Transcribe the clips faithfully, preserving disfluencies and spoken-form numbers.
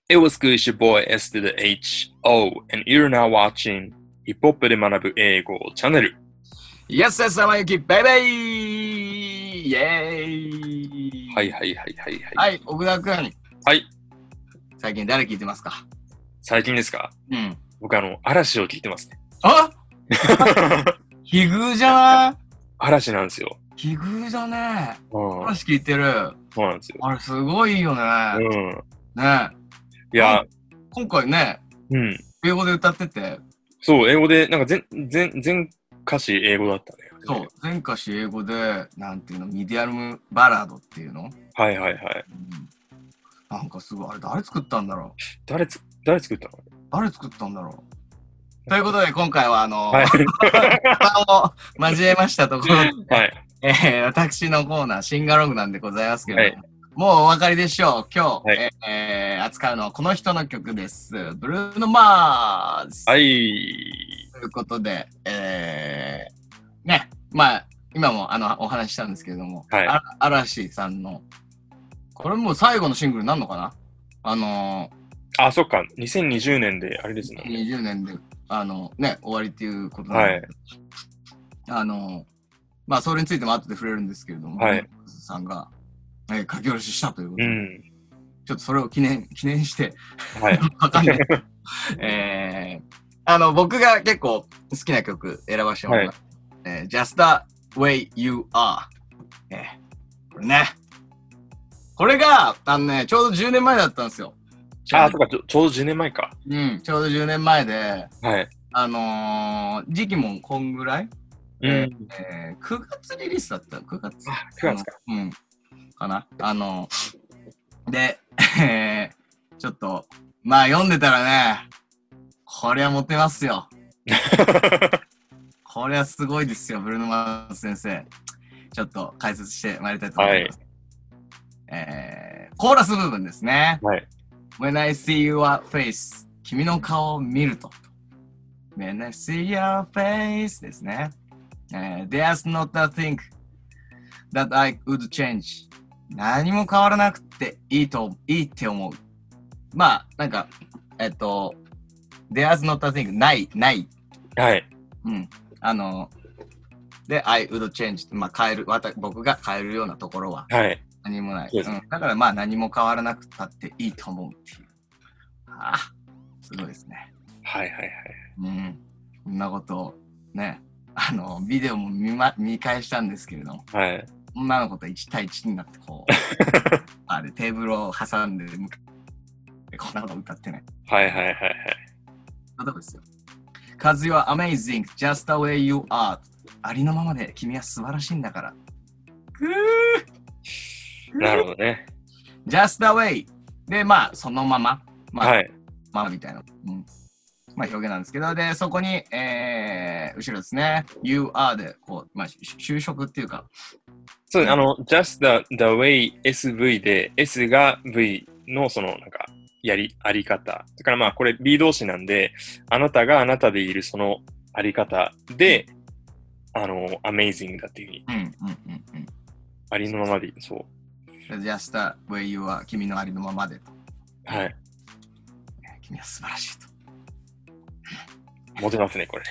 It was good, your boy S to the H O, and you're now watching ヒップホップで学ぶ英語チャンネル。 Yes, yes, 浜ゆき、バイバイイェーイはいはいはいはいはい。 はい、奥田くん。 はい。 最近誰聞いてますか？ 最近ですか？ うん。 僕あの、嵐を聞いてますね。 あ奇遇じゃない？ 嵐なんですよ。 奇遇じゃねえ。 うん。 嵐聞いてる。 そうなんですよ。 あれすごいよね。 うん。 ねいや、 今回ね、 うん。 英語で歌ってて。 そう、英語で、なんか全、全、全歌詞英語だったね。 そう、全歌詞英語で、なんていうの、ミディアムバラードっていうの？ はいはいはい。 うん、なんかすごい、あれ誰作ったんだろう？ 誰つ、誰作ったの？ 誰作ったんだろう？ということで、今回はあの、 はい、 を交えましたところで、 はい、 えー、私のコーナー、シンガロングなんでございますけれども、 はい、 もうお分かりでしょう。今日、 はい、 えー、扱うのはこの人の曲です。ブルーノ・マーズ。 はい。 ということで、えー、ね、まあ、今もあのお話ししたんですけれども、 はい、 あ嵐さんの、これもう最後のシングルになるのかな？あのー、あ、そっか、にせんにじゅうねんで、あれですね。 にじゅうねんで、あの、ね、終わりっていうことなんで、はい、 あの、まあ、それについても後で触れるんですけれども、 はい、 さんが、えー、書き下ろししたということで、 うん、 ちょっとそれを記念、記念して、 はい、 わかんない。えー、あの、僕が結構好きな曲選ばせてもらいます。はい、えー、Just the Way You Are。えー、これね。これが、あのね、ちょうどじゅうねんまえだったんですよ。 ああ、そっかちょ、ちょうどじゅうねんまえか。 うん、ちょうどじゅうねんまえで、 はい。 あのー、時期もこんぐらい、 うん、 えーえー、くがつリリースだった。くがつ。 あ、くがつか。 うん。かな。あのー、で、えー、ちょっと、まあ読んでたらね、こりゃモテますよ。こりゃすごいですよ、ブルーノ・マーズ先生。ちょっと解説してまいりたいと思います。はい、えー、コーラス部分ですね。 はい。 When I see your face 君の顔を見ると When I see your face ですね、えー、There's not a thing that I would change 何も変わらなくていいといいって思う。まあなんかえっと There's not a thing ないないはい。 うんあので I would change まあ変える僕が変えるようなところははい何もない、うん。だからまあ何も変わらなくたっていいと思うっていう。ああ、すごいですね。 はいはいはい。 うん。こんなことをね、あの、ビデオも 見,、ま、見返したんですけれども、 はい。 女の子といち対いちになってこう、あれテーブルを挟んで、こんなこと歌ってね。 はいはいはいはい。 そんなとこですよ。Cause you are amazing, just the way you are. ありのままで君は素晴らしいんだから。ぐーなるほどね。 Just the way で、まあ、そのまま。まあ、 はい。 まあ、みたいな。うん。まあ、表現なんですけど、で、そこに、えー、後ろですね。You are で、こう、まあ、就職っていうか。 そう、あの、just the, the way エスブイ で、S が V のその、なんか、やり、あり方。だからまあ、これ B 動詞なんで、あなたがあなたでいるそのあり方で、あの、amazing だっていうふうに。 うん、うん、うん、うん。 ありのままでいい。そう。 Just the way you are 君のありのままでと。 はい。 君は素晴らしいと。 モテますね、これ。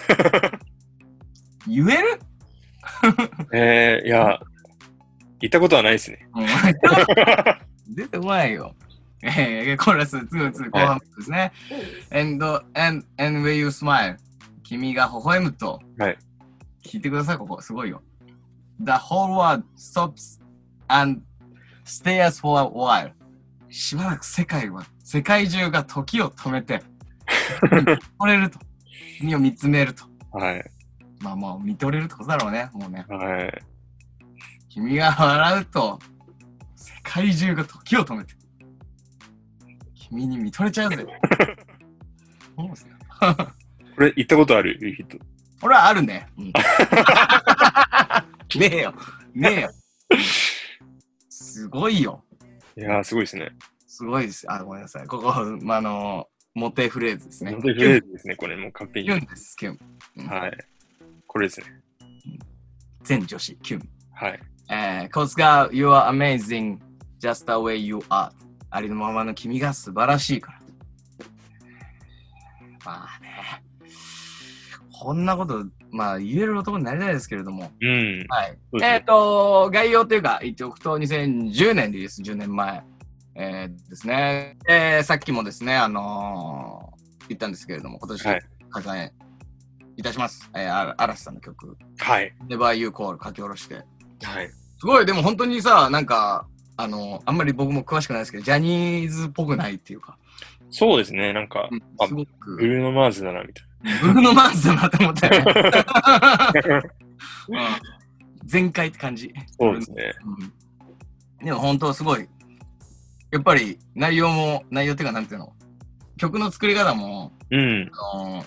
言えるえー、いや、言ったことはないですね。 出てこないよ。えー、コーラスに、に後半ですね。はい、and, and, and when you smile 君が微笑むと。 はい。 聞いてください、ここ。すごいよ。The whole world stops and stares for a while しばらく世界は世界中が時を止めて見とれると君を見つめると。 はい。 まあまあ見とれるってことだろうね。もうね。 はい。 君が笑うと世界中が時を止めて君に見とれちゃうぜ。そうですよ。 これ言ったことある人。 俺はあるね。うん、ねえよ。ねえよ。すごいよ。 いやー、すごいですね。 すごいです。あ、ごめんなさい。ここ、まあ、あの、モテフレーズですね。 モテフレーズですね、これもう完璧に。 キュンです、キュン。 うん、はい。これですね。 全女子、キュン。 はい。 えー、Cause girl, you are amazing, just the way you are. ありのままの君が素晴らしいから。まあね。こんなこと、まあ言える男になりたいですけれども。 うん。 はい。 そうですねえっ、と、概要というか、言っておくと、にせんじゅうねんリリース、じゅうねんまえ、えーですね。えーさっきもですね、あのー言ったんですけれども、今年、 はい開催いたします。えー、あ嵐さんの曲、 はい。 Never You Call 書き下ろして。 はい。 すごい、でも本当にさ、なんか、あのーあんまり僕も詳しくないですけど、ジャニーズっぽくないっていうか、 そうですね。なんか、 うんあすごく、 ブルーノ・マーズだな、みたいブルーノ・マーズだなと思ったよね。 な。 うん全開って感じ。 そうですね。 うん、でも本当すごい。やっぱり内容も、内容っていうかなんていうの、曲の作り方も、 うん。 あの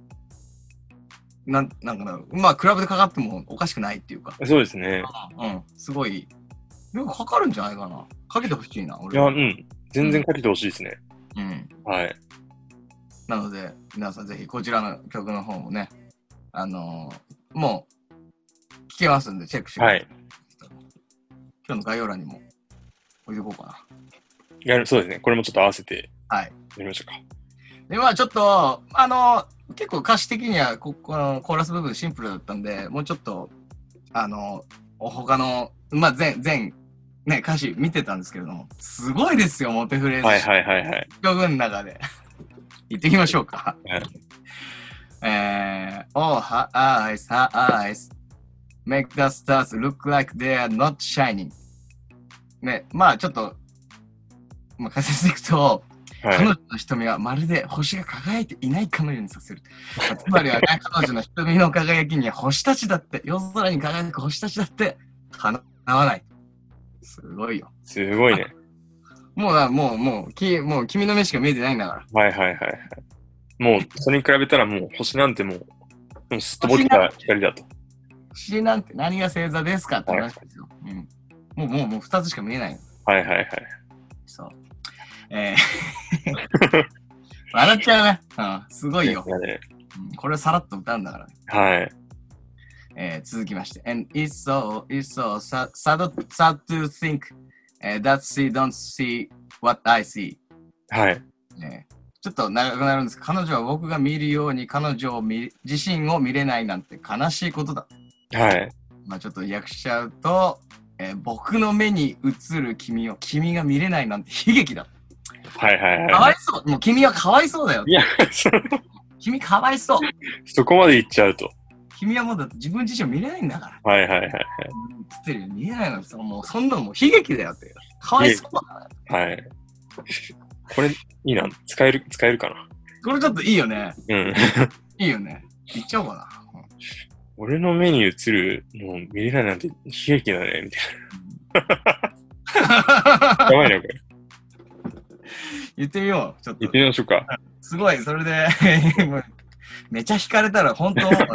なんなんかな、まあクラブでかかってもおかしくないっていうか、 そうですね。 うん、すごい、よくかかるんじゃないかな。かけてほしいな、 いや、 俺は。 うん。全然かけてほしいですね。 うん。 はい。 なので、皆さんぜひこちらの曲の方もね、あのーもう、聴けますんで、チェックしてください。 はい。 今日の概要欄にも置いておこうかな。 やるそうですね。これもちょっと合わせてはい。 やりましょうか。 で、まあちょっと、あの、結構歌詞的にはこ、このコーラス部分シンプルだったんで、もうちょっと、あの、他の、まあ全、全、ね、歌詞見てたんですけれども、すごいですよ、モテフレーズ。 はいはいはいはい。 曲の中で。行ってきましょうか。 はいえー、Oh, her eyes, her eyes, make the stars look like they are not shining. ね、まあちょっと、まあ解説していくと、彼はい。 女の瞳はまるで星が輝いていないかのようにさせる。つまりはね、彼女の瞳の輝きには星たちだって、夜空に輝く星たちだってかなわない。すごいよ。 すごいね。 もうな、もう、もう、きもう君の目しか見えてないんだから。 はいはいはいはい。もう、それに比べたらもう星なんてもう、もうすっとぼけた光だと。 星なんて何が星座ですかって話ですよ。うん。もう、もう、もう二つしか見えない。 はいはいはい。 そう。えー、笑っちゃうね。うん、すごいよ。 ねうん、これをさらっと歌うんだからね。 はい。 えー、続きまして。And it's so, it's so sad, sad, sad to think、uh, that she don't see what I see、 はい。 ね。ちょっと長くなるんですが、彼女は僕が見るように彼女を見自身を見れないなんて悲しいことだ。 はい。 まあちょっと訳しちゃうと、えー僕の目に映る君を君が見れないなんて悲劇だ。 はいはいはい。 かわいそう。もう君はかわいそうだよ。 いや、そ君かわいそう。 そこまで言っちゃうと。 君はもうだって自分自身を見れないんだから。 はいはいはいはい。 つってるように見えないのにさ、もうそんなのもう悲劇だよって。かわいそうだから。 はい。これ、いいな。使える、使えるかな。 これちょっといいよね。 うん。 いいよね。言っちゃおうかな。 俺の目に映るのを見れないなんて悲劇だね、みたいな。やばいな、これ。 言ってみよう。ちょっと言って。みましょうか。 すごい、それで、もうめちゃ惹かれたら本当、訴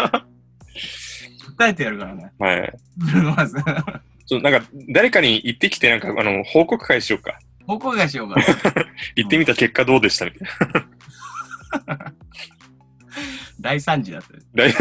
えてやるからね。 はい。 まず、 ちょなんか、誰かに行ってきて、なんか、あの、報告会しようか。 報告会しようかな。 行ってみた結果どうでしたみたいな。 大惨事だったよ。 大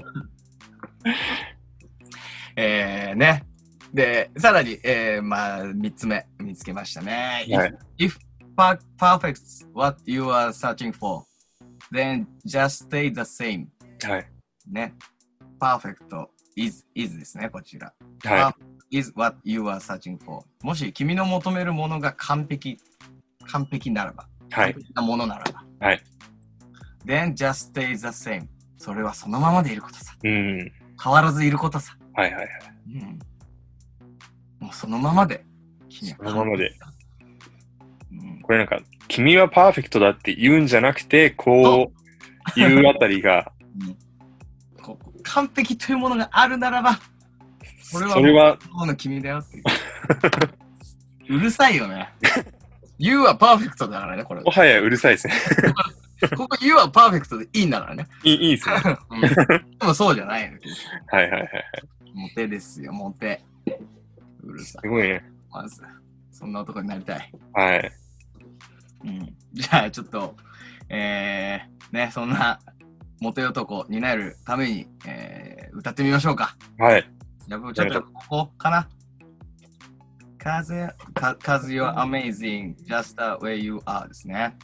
えー、ね。で、さらに、えー、まあ、三つ目、見つけましたね。 はい If, if perfect's what you are searching for, then just stay the same. はい。 ね。perfect is, is ですね、こちら。 は is what you are searching for. もし君の求めるものが完璧、完璧ならば、 い。はい完。璧なものならば、 はい。 then just stay the same. それはそのままでいることさ。 うん。 変わらずいることさ。 はいはいはい。 うん、もうそのままで。君はそのままで。 うん、 これなんか、君はパーフェクトだって言うんじゃなくて、こう言うあたりが、 こう完璧というものがあるならば、これはそれは、 もうの君だよっていう。うるさいよね。You はパーフェクトだからね、これ。 もはやうるさいですね。 ここ You はパーフェクトでいいんだからね。 いいいいですね。 うん、でもそうじゃないの。 はいはいはいはい。 モテですよ、モテ。うるさい。 すごいね。 まず、そんな男になりたい。 はい。 うん、じゃあちょっと、えー、ね、そんなモテ男になるために、えー、歌ってみましょうか。 はい。 じゃあ、ちょっとここかな。風、 cause you're amazing, just the way you are ですね。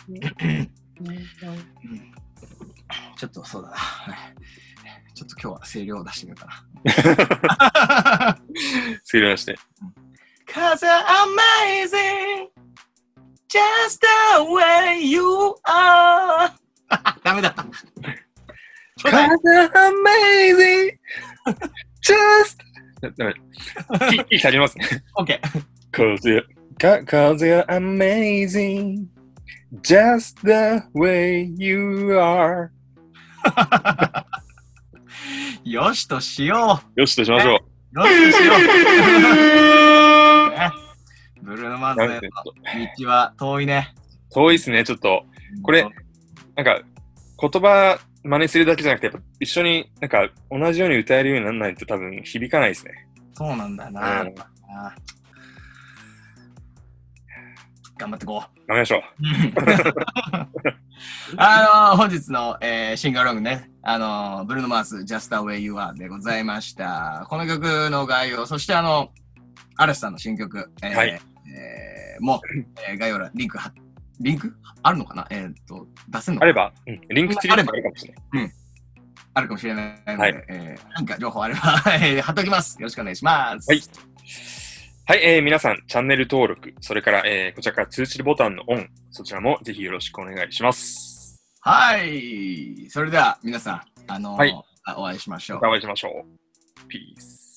ちょっとそうだな。ちょっと今日は声量を出してみようかな。 声量出して。 Cause you're amazing, just the way you are ダメだ。 Cause you're amazing, just ダメ。キー下げますね。 OK。 Cause you're, cause you're amazing, just the way you are よしとしよう。よしとしましょう。よしとしよう。ね、ブルーノマーズの道は遠いね。 遠いですね、ちょっと。これ、なんか、言葉真似するだけじゃなくて、やっぱ一緒になんか同じように歌えるようにならないと多分響かないですね。 そうなんだよな。うん、頑張ってこう。 頑張りましょう。 あのー、本日の、えー、シンガーロングね、あのー、ブルーノマース Just the Way You Are でございました。この曲の概要、そしてあの、アレスさんの新曲、えーはいえー、もう、えー、概要欄、リンクは、リンクあるのかなえー、っと、出せるのかなあれば、うん、リンク付きであるかもしれない。 うん。あるかもしれないので、 はい、 えー、なんか情報あれば、えー、貼っておきます。よろしくお願いします。 はい。はい、えー、皆さん、チャンネル登録、それから、えー、こちらから通知ボタンのオン、そちらもぜひよろしくお願いします。 はい。それでは、皆さん、あのーはい、お会いしましょう。 お会いしましょう。ピース。